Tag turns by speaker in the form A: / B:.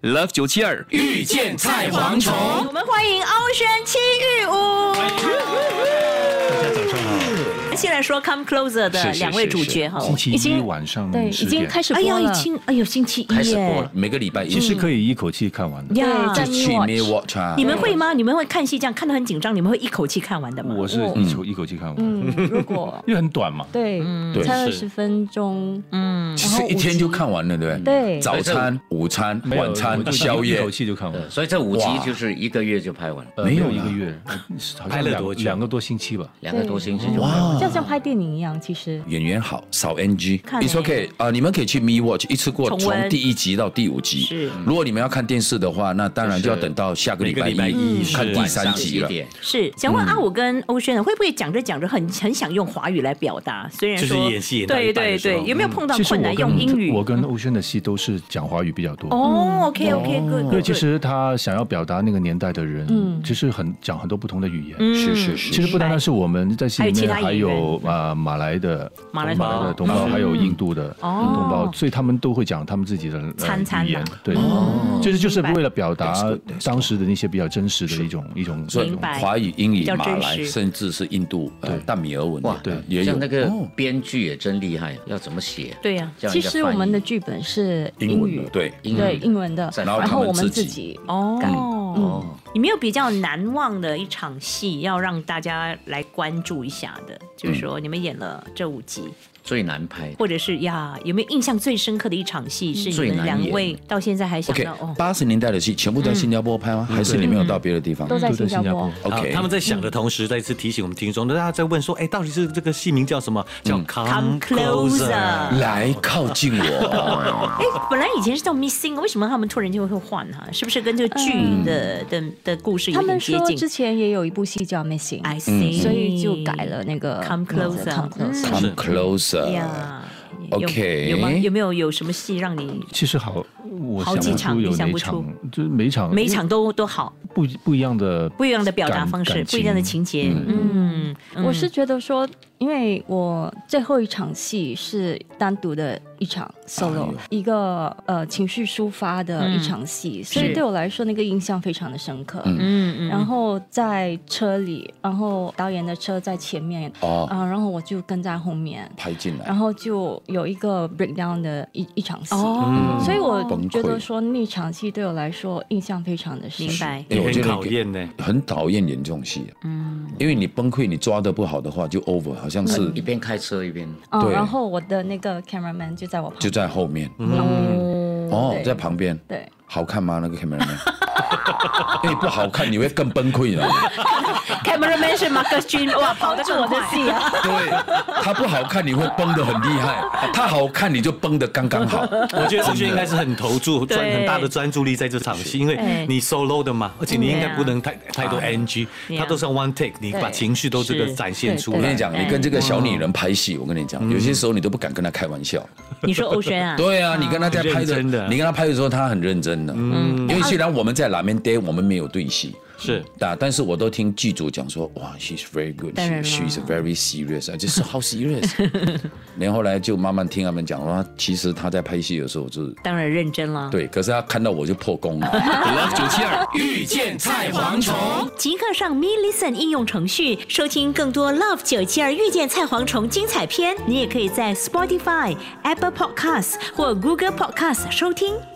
A: Love 972遇见菜蝗虫，
B: 我们欢迎Ocean 戚玉武。
C: 大家早上好。
B: 先来说 Come Closer 的两位主角哈，
C: 星期一晚上
D: 对，已经开始播了。
B: 星期一
E: 开始播了，每个礼拜一。
C: 其实可以一口气看完的。
B: 呀，
E: 就去 Watch 啊。
B: 你们会吗？你们会看戏这样看得很紧张，你们会一口气看完的吗？
C: 我是一口气看完。
D: 如果
C: 因为很短嘛。
D: 对，才20分钟。
E: 其实一天就看完了，对不对？
D: 对。
E: 早餐、午餐、晚餐、宵夜，
C: 一口气就看完。
F: 所以这5集就是1个月就拍完了。
C: 没有1个月，
F: 拍了多久？
C: 2个多星期吧。
F: 2个多星期就拍完。
D: 就像拍电影一样，其实。
E: 演员好，少 NG。It's OK 你们可以去 Me Watch 一次过从第1集到第5集。
B: 是。
E: 如果你们要看电视的话，那当然就要等到下个礼拜一看第3集了。
B: 是。想问阿武跟欧萱会不会讲着讲着很想用华语来表达？虽然说
F: 就是演戏演到
B: 对，有没有碰到困难用英语？
C: 我跟欧萱的戏都是讲华语比较多。
B: OK，
C: 因为其实他想要表达那个年代的人，其实讲很多不同的语言。
E: 是。
C: 其实不单单是我们在戏里面，还有马来的同胞，还有印度的同胞，所以他们都会讲他们自己的语言。对，就是为了表达当时的那些比较真实的一种
E: 华语、英语、马来，甚至是印度淡米尔文。
F: 哇，对，像那个编剧也真厉害，要怎么写？
B: 对呀，
D: 其实我们的剧本是英语，
E: 对
D: 英文的，然后我们自己改。
B: 你没有比较难忘的一场戏要让大家来关注一下的，就是说你们演了这5集。
F: 最难拍，
B: 或者是有没有印象最深刻的一场戏是你们2位到现在还想到
E: ？80年代的戏全部在新加坡拍吗？还是你们有到别的地方？
D: 都在新加坡。
F: OK， 他们在想的同时，再次提醒我们听众，大家在问说，到底是这个戏名叫什么？叫 Come Closer，
E: 来靠近我。
B: 本来以前是叫 Missing， 为什么他们突然就会换哈？是不是跟这个剧的故事有点接近？
D: 他们说之前也有一部戏叫 Missing， 所以就改了那个
B: Come Closer。
E: OK，
B: 有没有什么戏让你？
C: 其实我想不出有哪场，就是每场
B: 都好，
C: 不一样的
B: 表达方式，不一样的情节。
D: 我是觉得说，因为我最后一场戏是单独的一场 solo， 一个情绪抒发的一场戏，所以对我来说那个印象非常的深刻。然后在车里，然后导演的车在前面，然后我就跟在后面
E: 拍进来，
D: 然后就有一个 breakdown 的一场戏，所以我觉得说那场戏对我来说印象非常的深。
B: 明白，
E: 我觉得
F: 讨厌呢，
E: 很讨厌演这种戏。因为你崩溃，你抓得不好的话就 over， 好像是
F: 一边开车一边。
E: 对，
D: 然后我的那个 cameraman 就在我旁边，
E: 就在后面，在旁边。
D: 对，
E: 好看吗？那个 cameraman？ 因为不好看，你会更崩溃了。
B: cameraman 是 Marcus Jun， 哇，跑的是我的戏啊。
E: 对，他不好看，你会崩得很厉害；他好看，你就崩得刚刚好。
F: 我觉得苏萱应该是很投注，很大的专注力在这场戏，因为你 solo 的嘛，而且你应该不能太多 NG， 他都是 one take， 你把情绪都这个展现出来。
E: 我跟你讲，你跟这个小女人拍戏，我跟你讲，有些时候你都不敢跟她开玩笑。
B: 你说欧萱啊？
E: 对啊，你跟她在拍的，你跟她拍的时候，她很认真的。因为虽然我们在拉面店，我们没有对戏。
F: 是，
E: 但是我都听剧组讲说，哇 ，she's very good，she's very serious， 就是 how serious。然后后来就慢慢听他们讲说，其实他在拍戏的时候就
B: 当然认真了。
E: 对，可是他看到我就破功了。
A: Love 972遇见菜蝗虫，
B: 即刻上 Me Listen 应用程序收听更多 Love 972遇见菜蝗虫精彩片。你也可以在 Spotify、Apple Podcasts 或 Google Podcasts 收听。